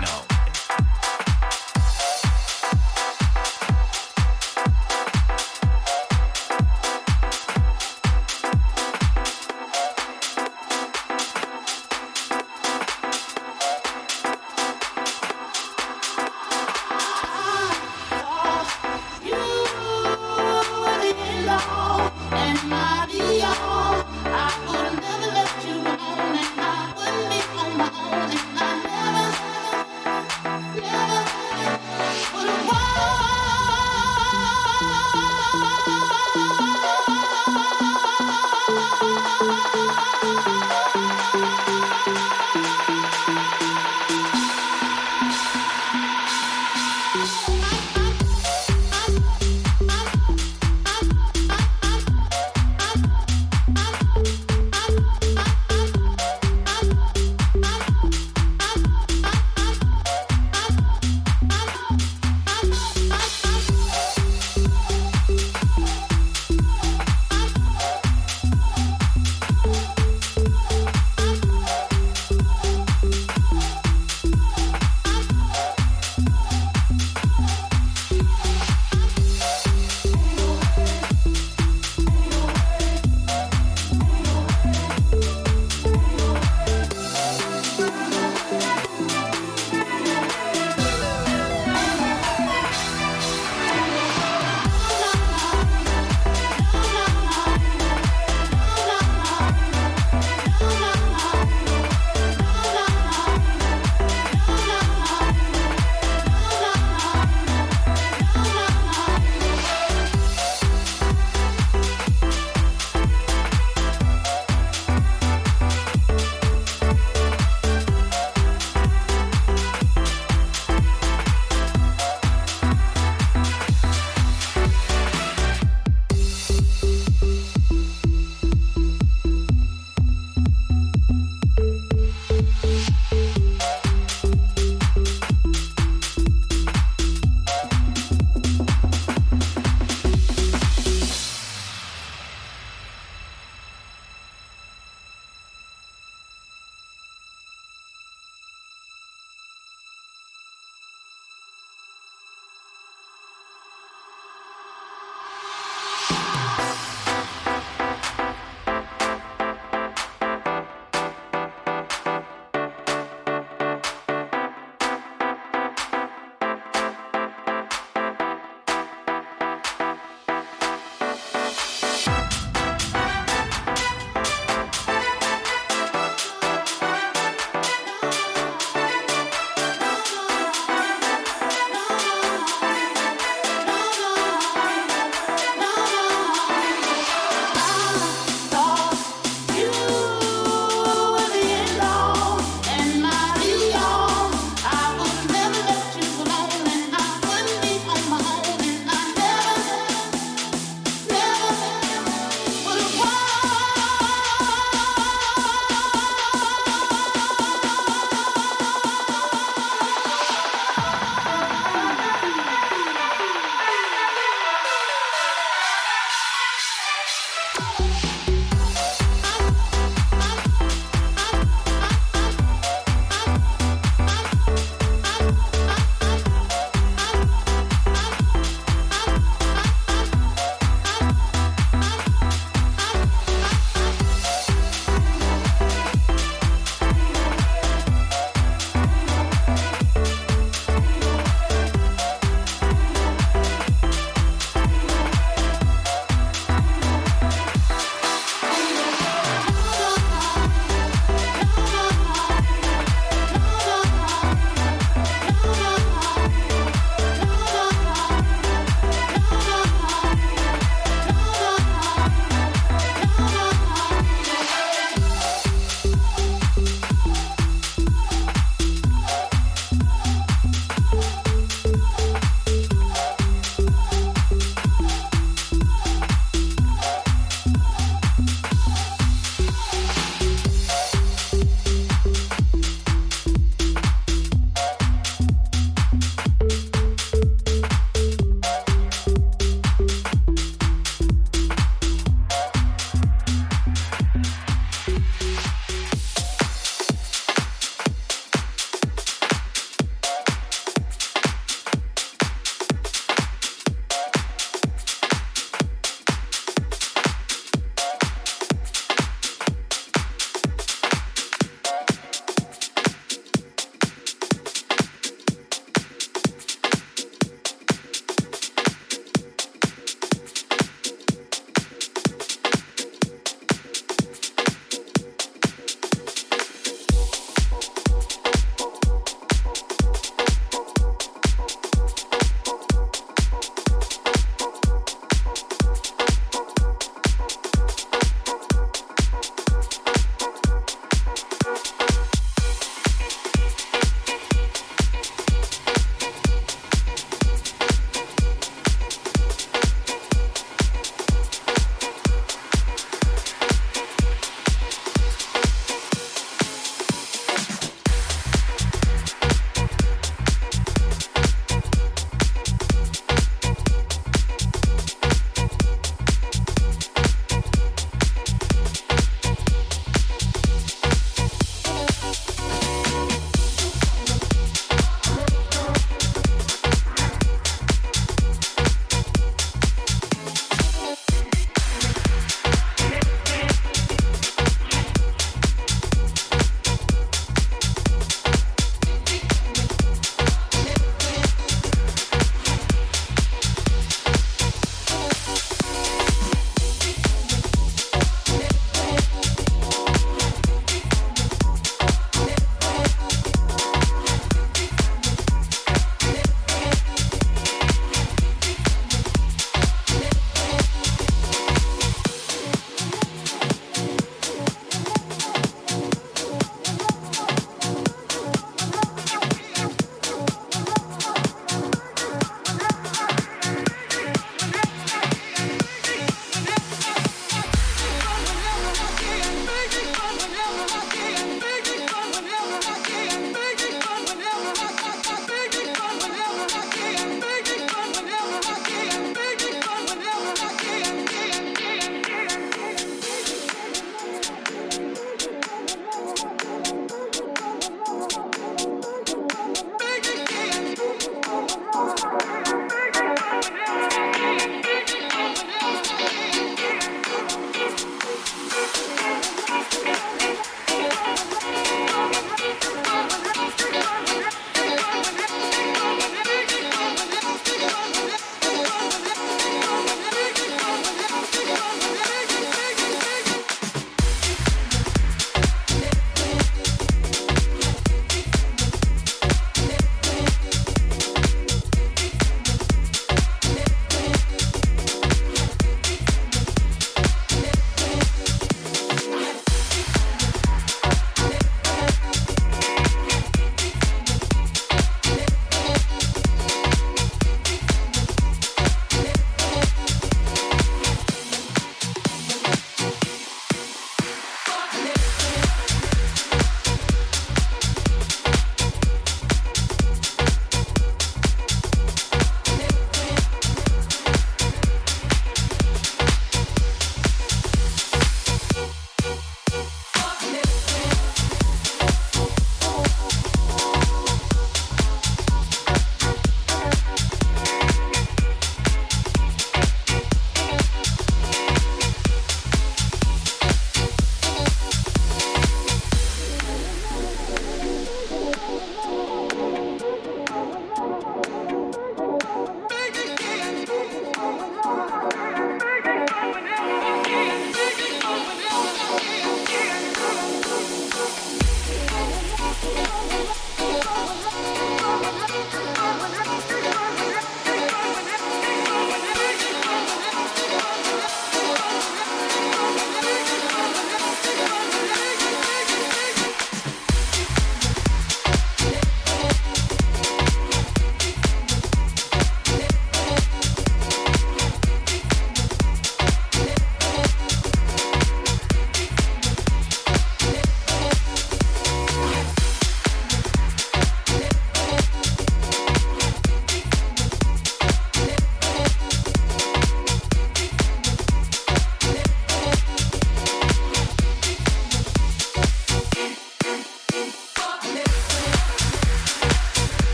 know.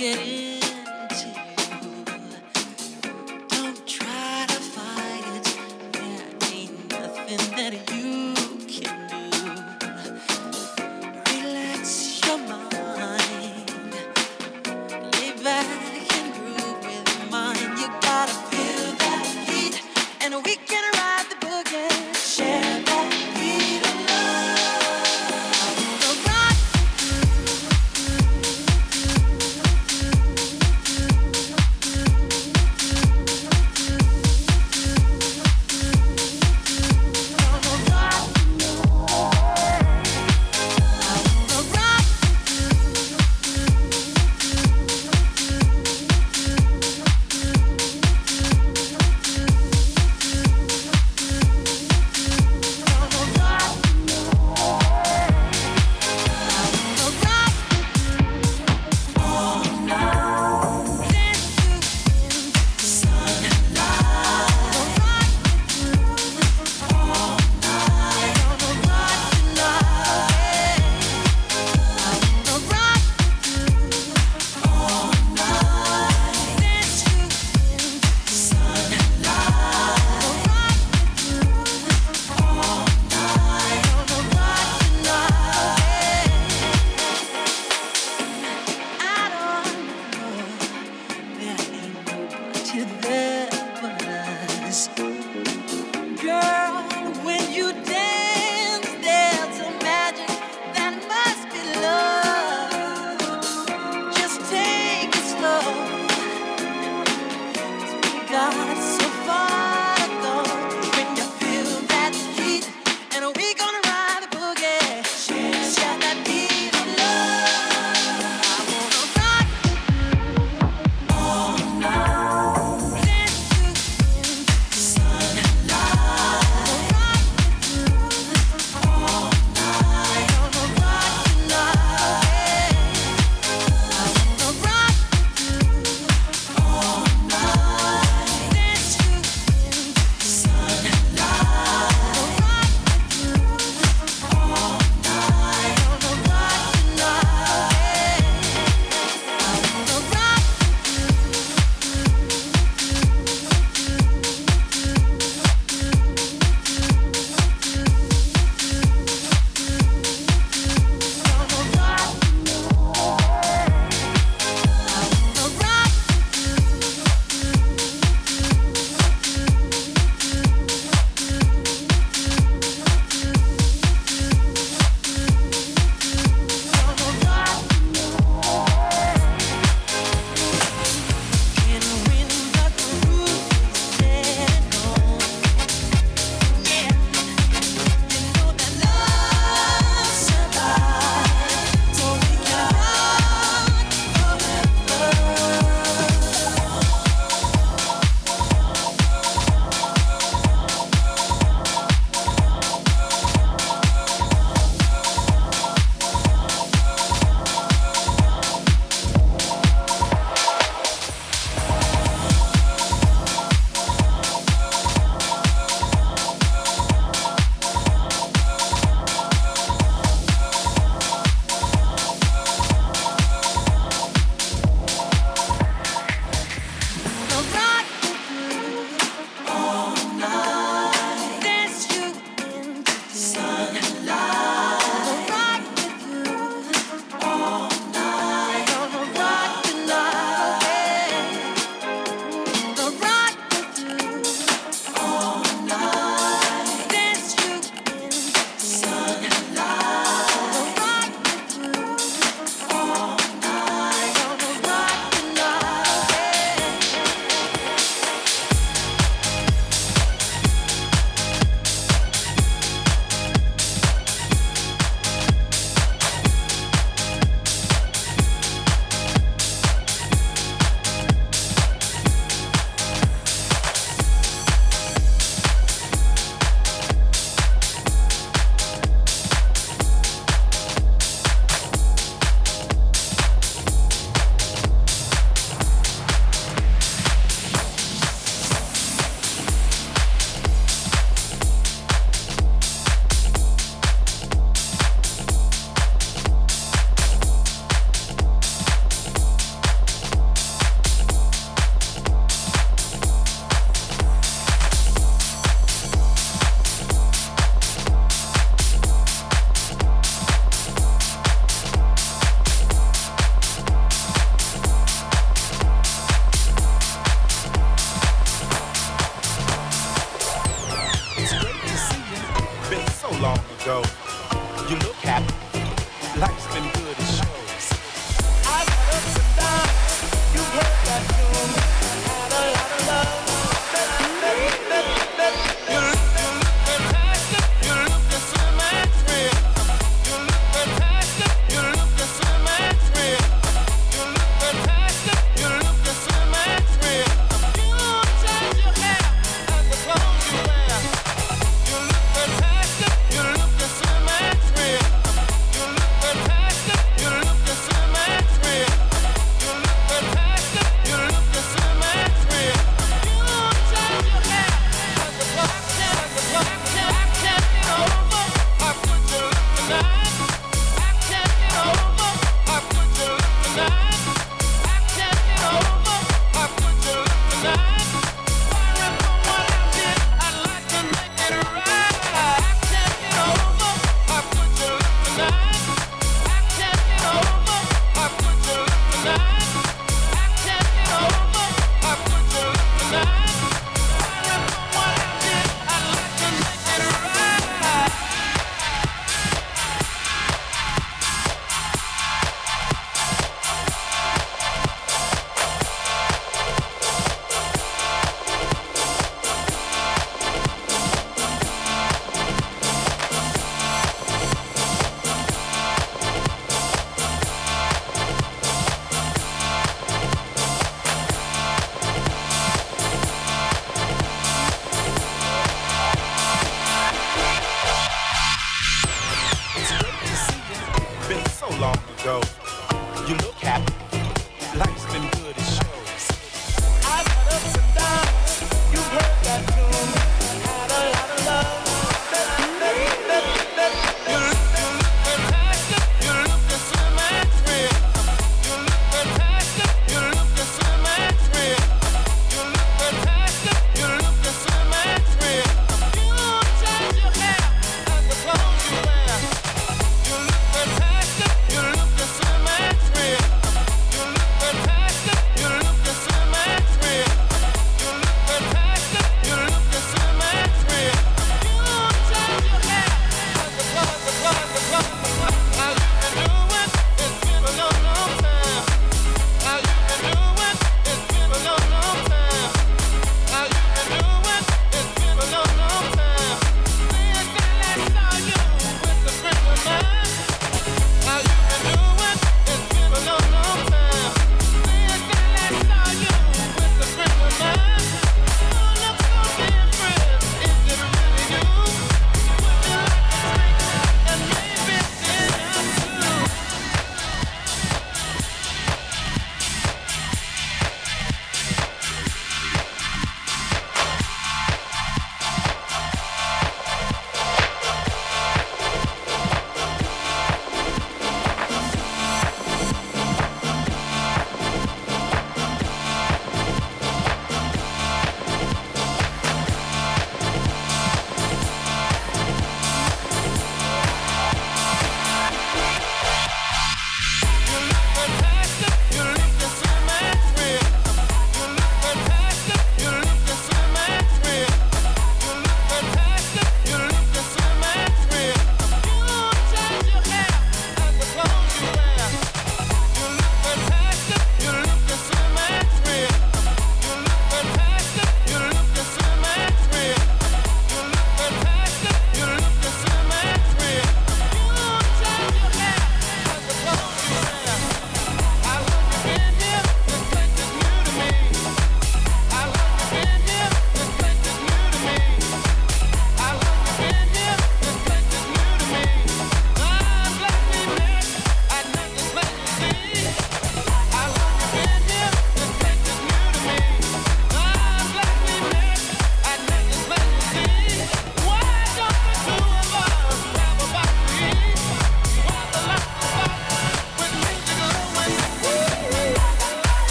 get into. Don't try to fight it. There ain't nothing that you can do. Relax your mind. Lay back and groove with mine. You gotta feel that heat, and we can ride the boogie. Share that beat of love. So rock through. Life's been good, it shows. I've had ups and downs. You've heard that tune. Had a lot of love. You look fantastic. You look so much real. You look fantastic. You look so much real. You look fantastic. You look so much real. You change your hair and the clothes you wear. You look fantastic. You look so much real. You look fantastic. You look so much real. You look fantastic. You look so much real. You change your hair and the clothes I can't get over. I put you looking nice. I can't get over. I put you looking nice. I can't get over. I put you looking nice. Sorry for what I did. I'd like to make it right. I can't get over. I put you looking nice. I can't get over. I put you looking nice. I can't get over. I put you looking nice. Sorry for what I did. I'd like to make it right. Been so long ago. You look happy. Life's been good, it shows. I've had ups and downs. You've heard that tune. Had a lot of love. You look fantastic. You look so much real. You look fantastic. You look so much real. You look fantastic. You look so much real. You change your hair and the clothes you wear. You look fantastic. You look so much real. You look fantastic. You look so much real.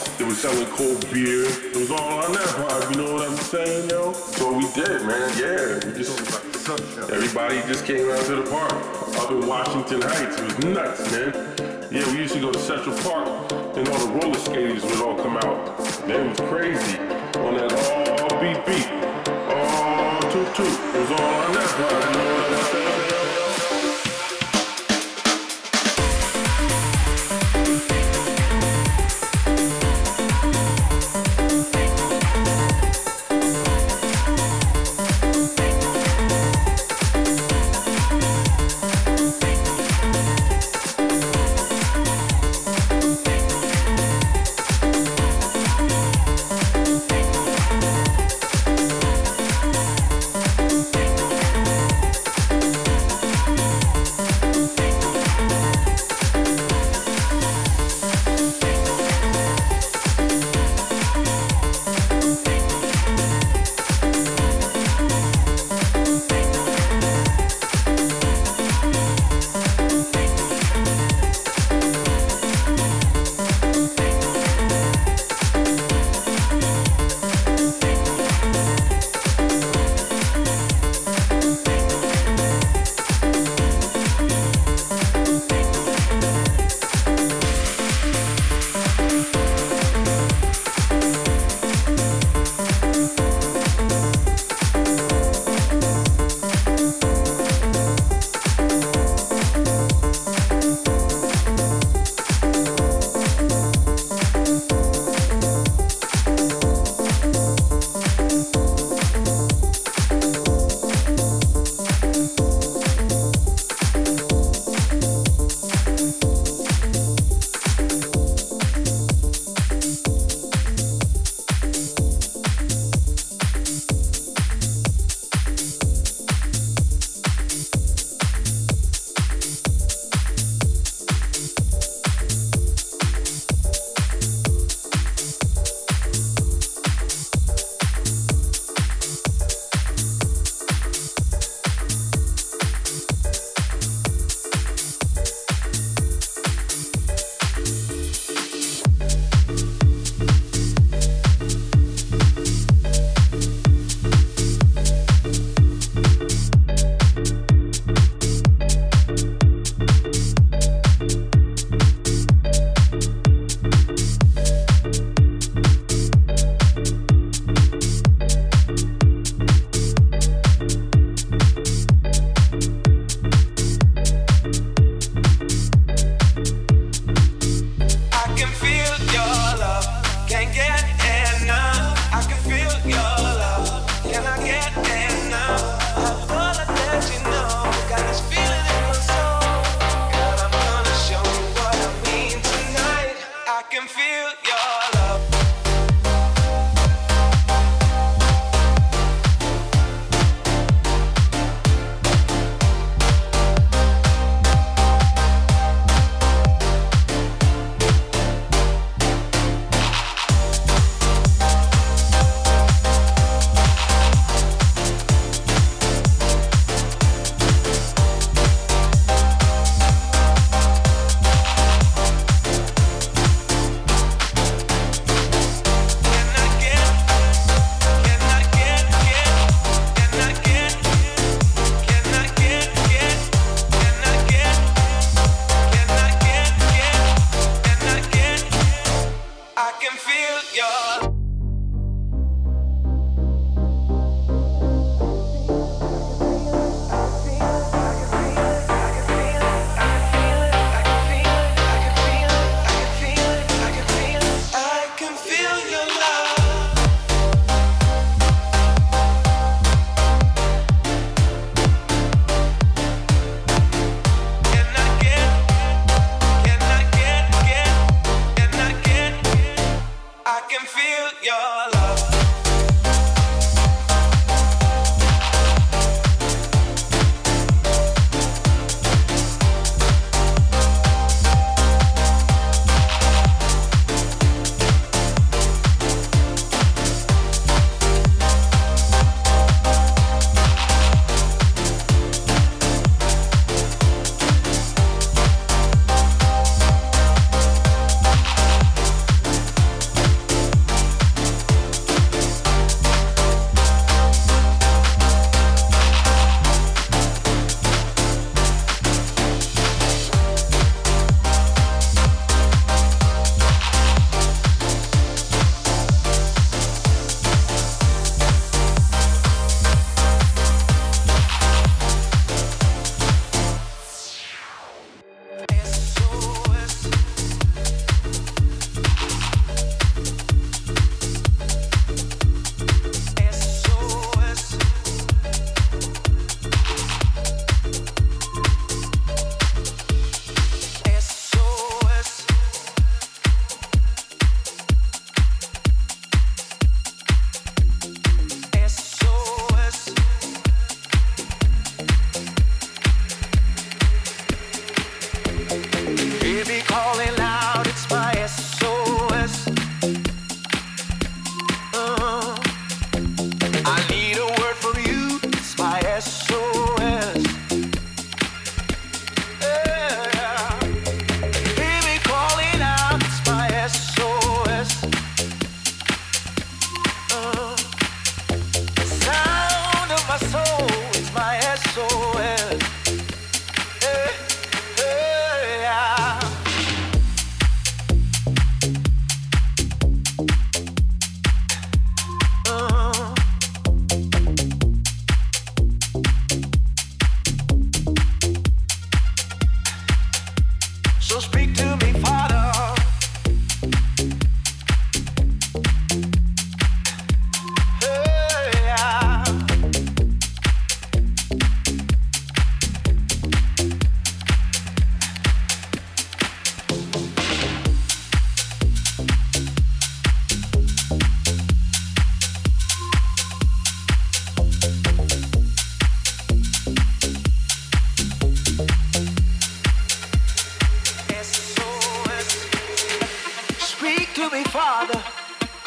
They were selling cold beer. It was all on that vibe, you know what I'm saying, yo? So we did, man, yeah. We just, everybody just came out to the park. Up in Washington Heights, it was nuts, man. Yeah, we used to go to Central Park and all the roller skaters would all come out. Man, it was crazy. On that all beat beat. All toot toot. It was all on that vibe, you know what I'm saying?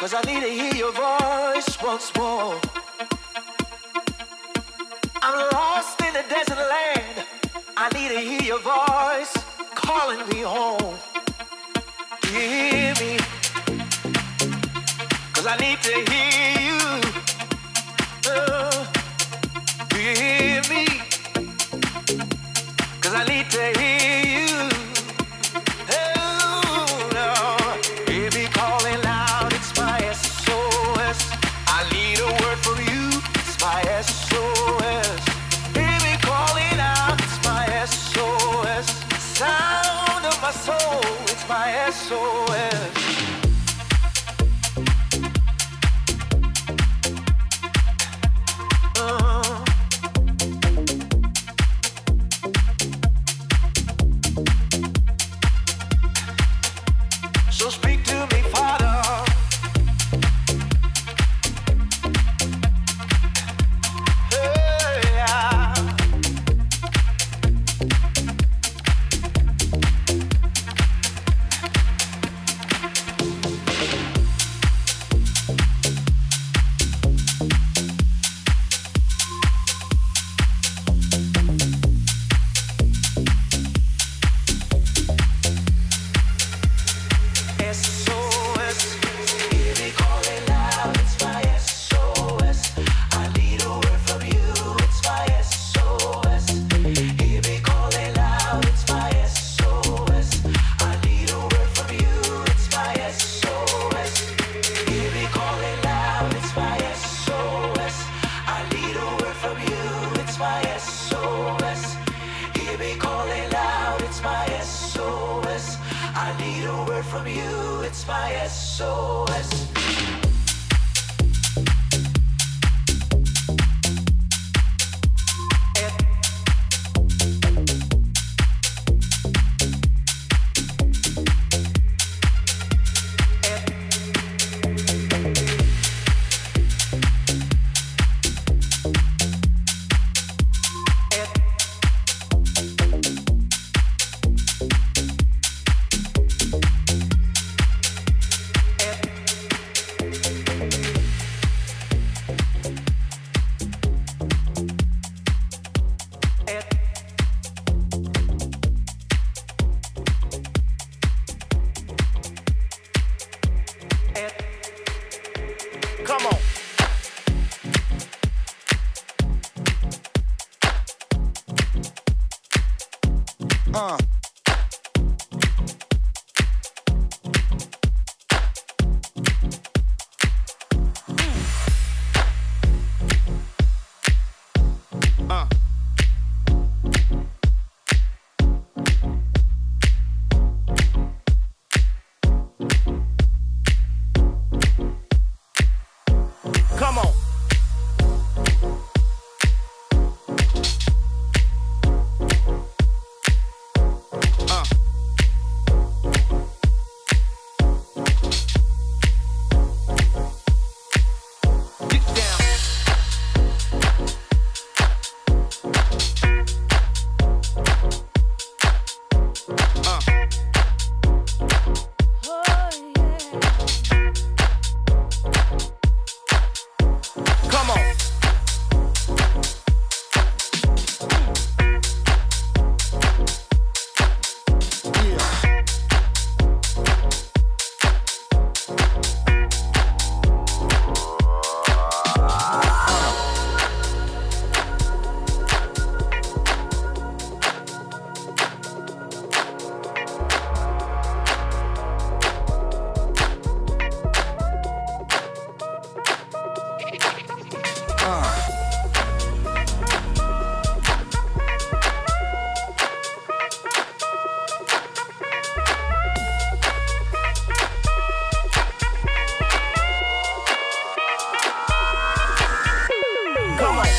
'cause I need to hear your voice once more. I'm lost in the desert land. I need to hear your voice calling me home. Hear me, 'cause I need to hear you. Hear me, 'cause I need to hear you. Oh, no. Hear me calling out, it's my SOS. I need a word from you, it's my SOS. Hear me calling out, it's my SOS. Sound of my soul, it's my SOS. So speak to me, Father. Hey, yeah. SOS. Hear me calling out, it's my SOS. I need a word from you, it's my SOS. Hear me calling out, it's my SOS. I need a word from you, it's my SOS. Hear me calling out, it's my SOS. I need a word from you, it's my SOS. Hear me calling out, it's my SOS. I need a word from you, it's my SOS. Come on. Come on. Get down. Come on. Come on.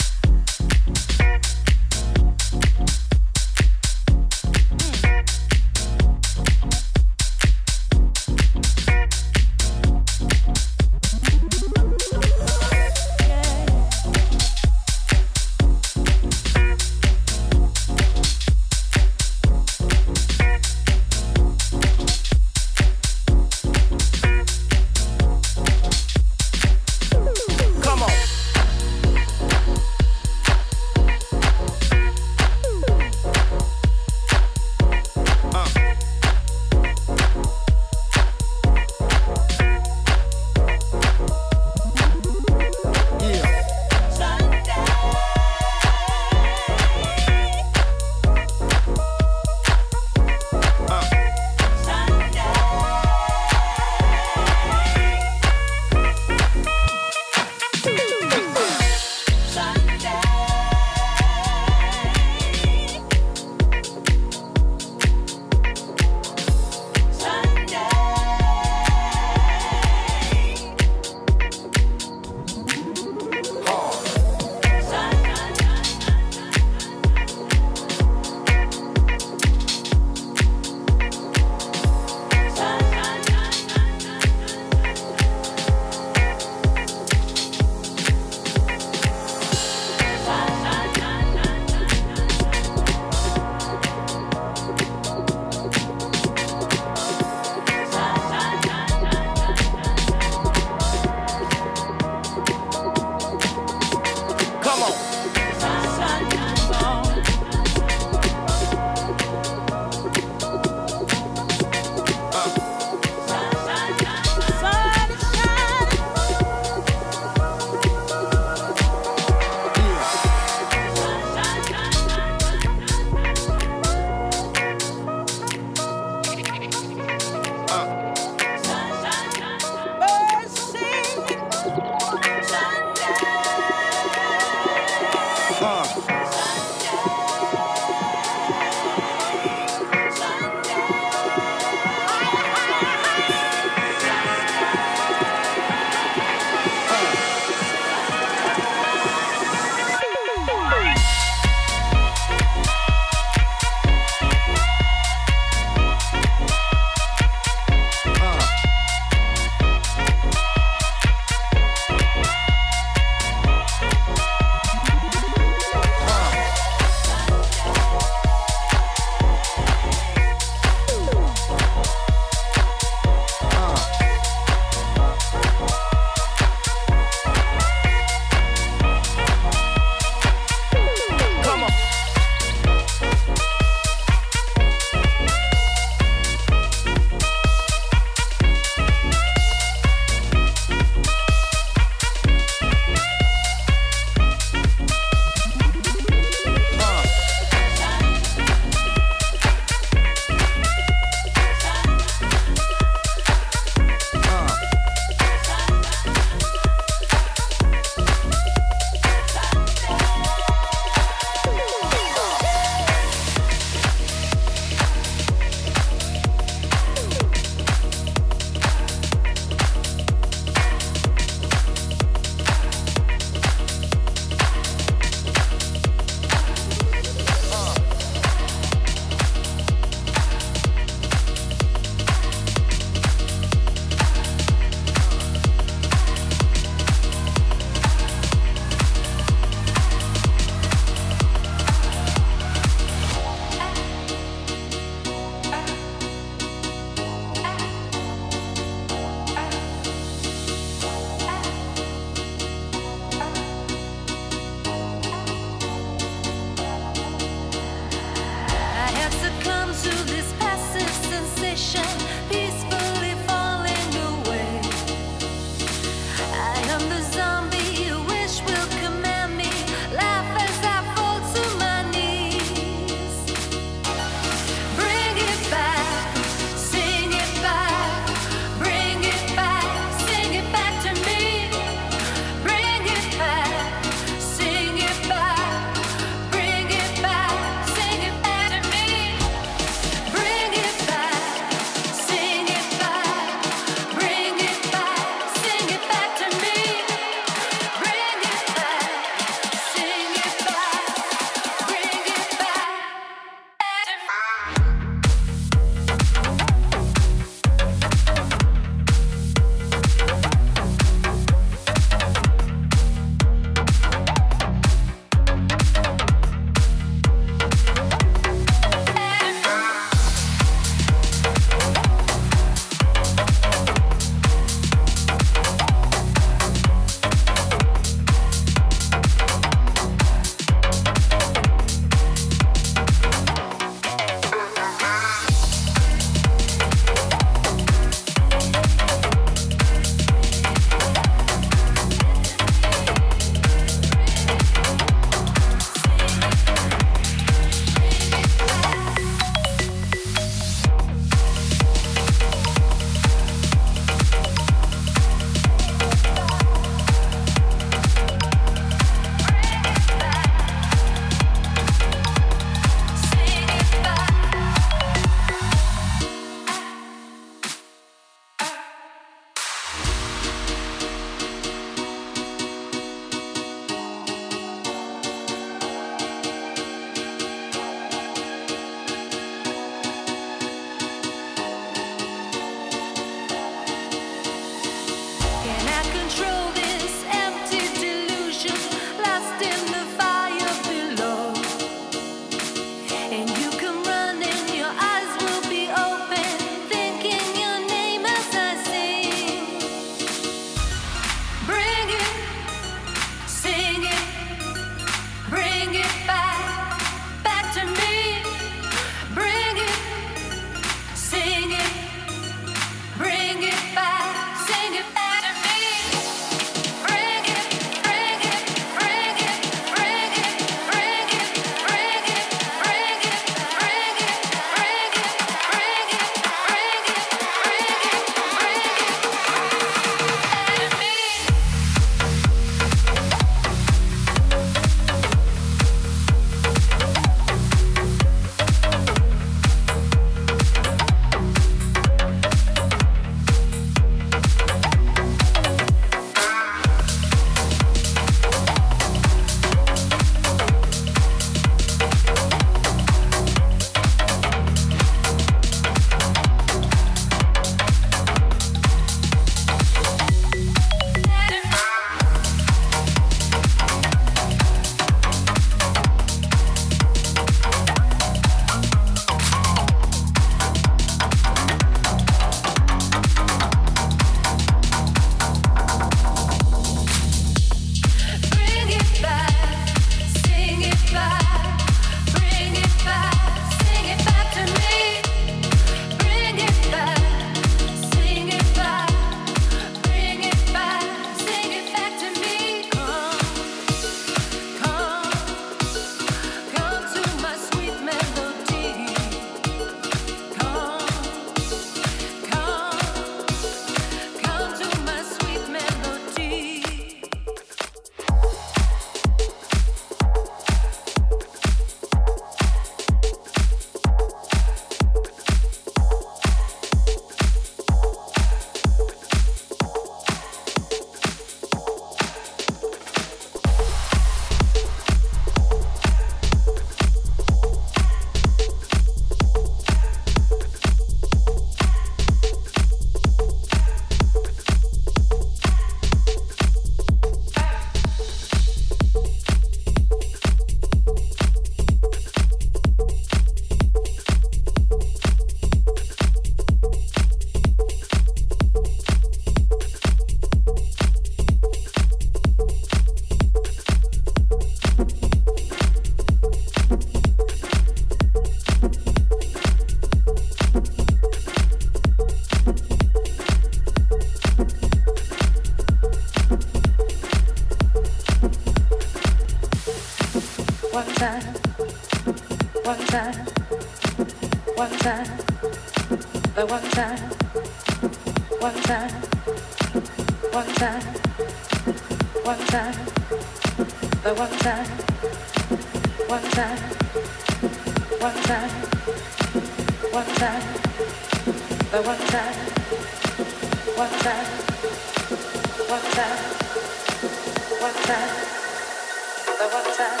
time, one time, the one time, one time, one time, one time, the one time, one time, one time, one time, the one time, one time, one time, one time, the one time.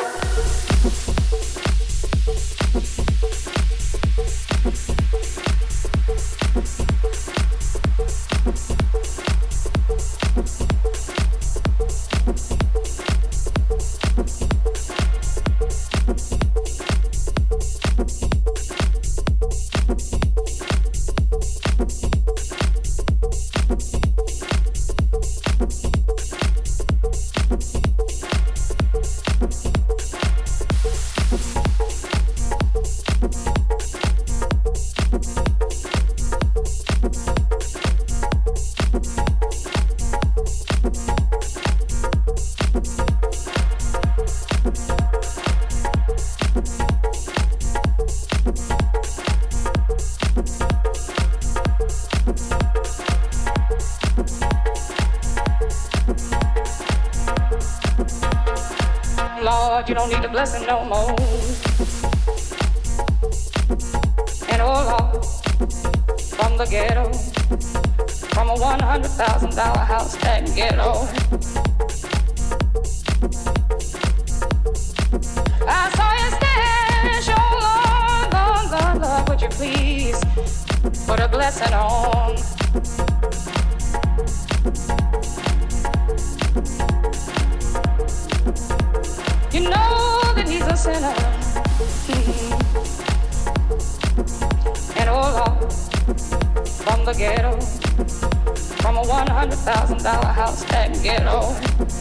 Lord, you don't need the blessing no more. And oh Lord, from the ghetto, from a $100,000 house that ghetto, I saw you stand, show Lord, Lord, Lord, Lord, would you please put a blessing on? You know that he's a sinner. And oh Lord, from the ghetto, from a $100,000 house that ghetto,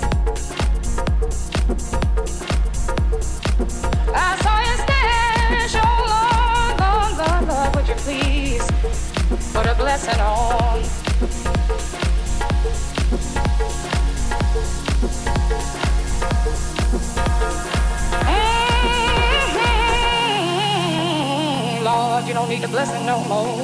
I saw you stand, show Lord, Lord, Lord, Lord, would you please put a blessing on? Lord, you don't need the blessing no more.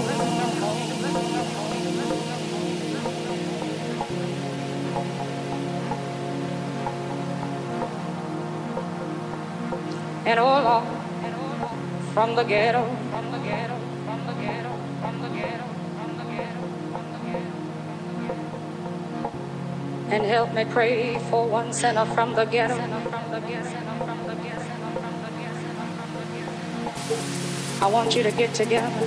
And oh Lord, from the ghetto, from the ghetto, from the ghetto, from the ghetto, from the ghetto, from the ghetto, and help me pray for one sinner from the ghetto. I want you to get together.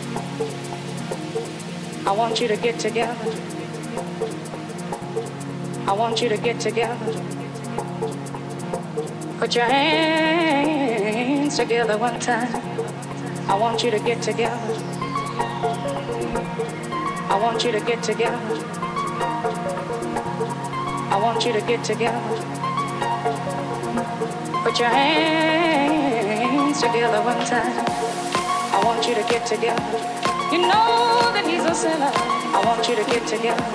I want you to get together. I want you to get together. Put your hands together one time. I want you to get together. I want you to get together. I want you to get together. Put your hands together one time. I want you to get together. You know that he's a sinner. I want you to get together.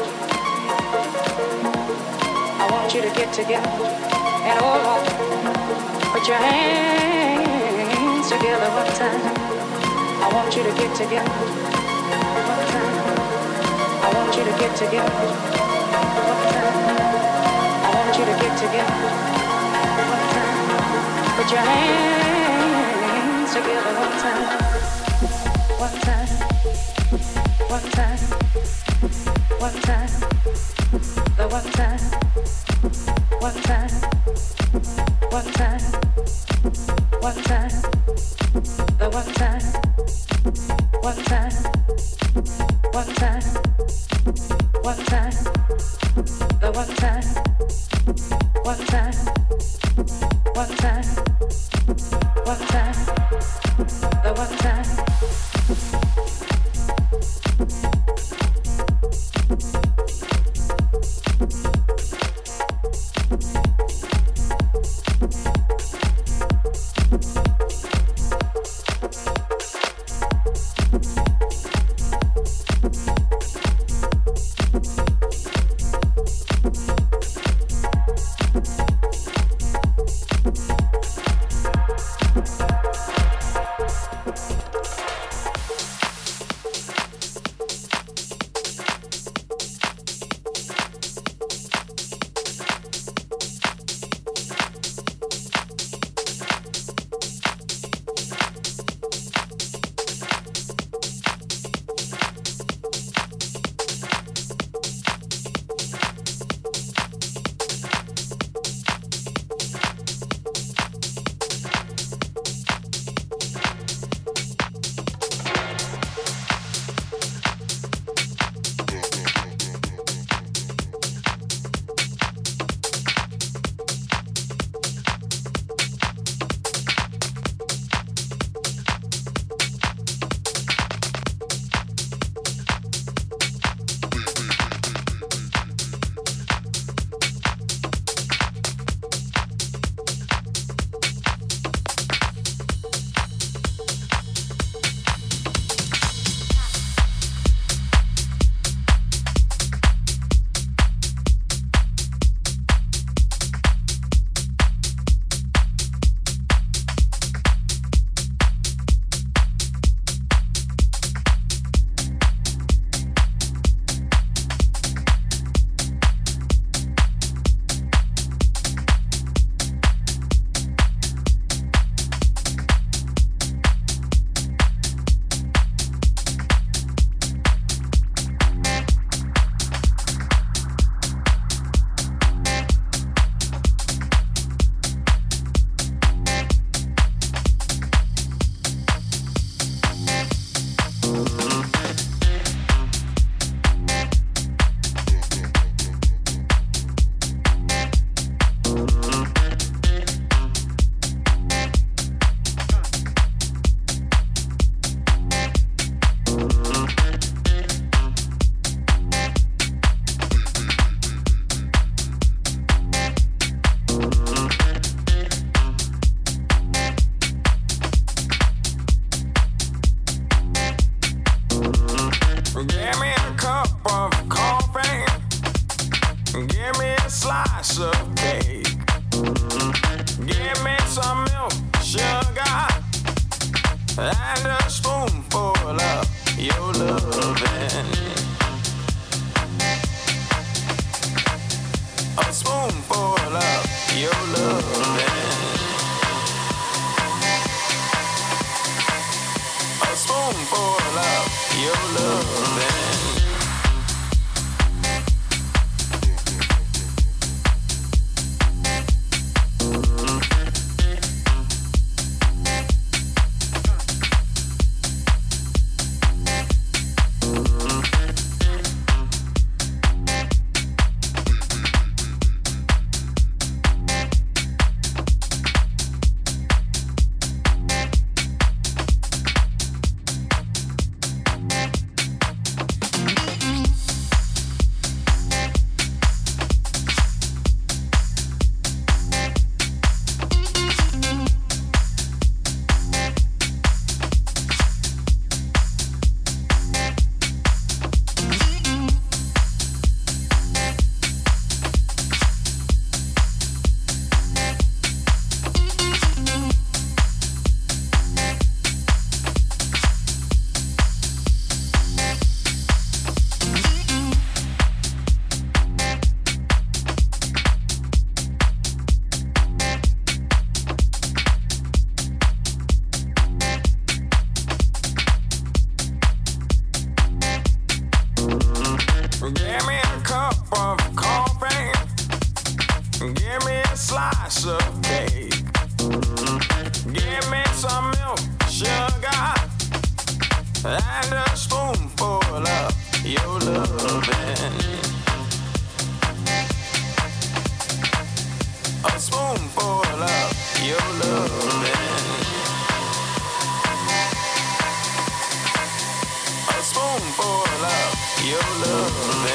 I want you to get together. And oh Lord, put your hands together one time. I want you to get together. One time. I want you to get together. One time. I want you to get together. One time. Put your hands together one time. One time. One time. One time. The one time. One time. One time. One time. The one time. One time. One time. One time. The one time. One time. One time. One time. The one time. slice of cake. Give me some milk, sugar, and a spoonful of your loving. A spoonful of your loving. A spoonful of your loving. Give me a cup of coffee. Give me a slice of cake. Give me some milk, sugar, and a spoonful of your loving. A spoonful of your loving. A spoonful of your loving.